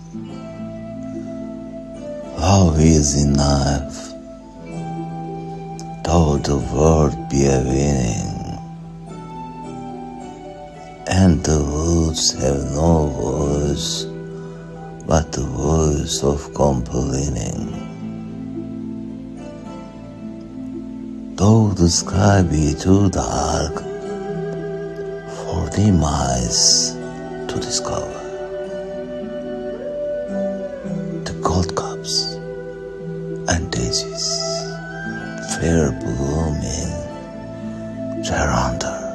Love is enough, though the world be a winning, and the woods have no voice but the voice of complaining. Though the sky be too dark for dim eyes to discover, the gold cups and daisies fair blooming thereunder.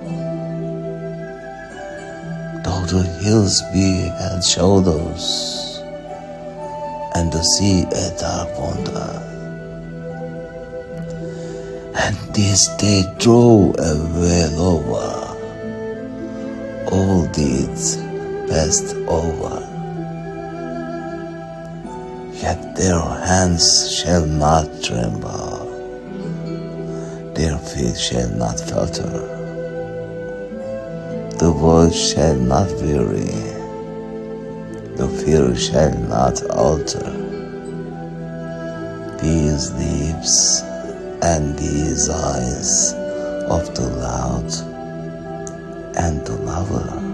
Though the hills be held shadows and the sea a dark wonder, and this day draw a veil over all deeds passed over, yet their hands shall not tremble, their feet shall not falter, the voice shall not weary, the fear shall not alter. These lips and these eyes of the loud and the lover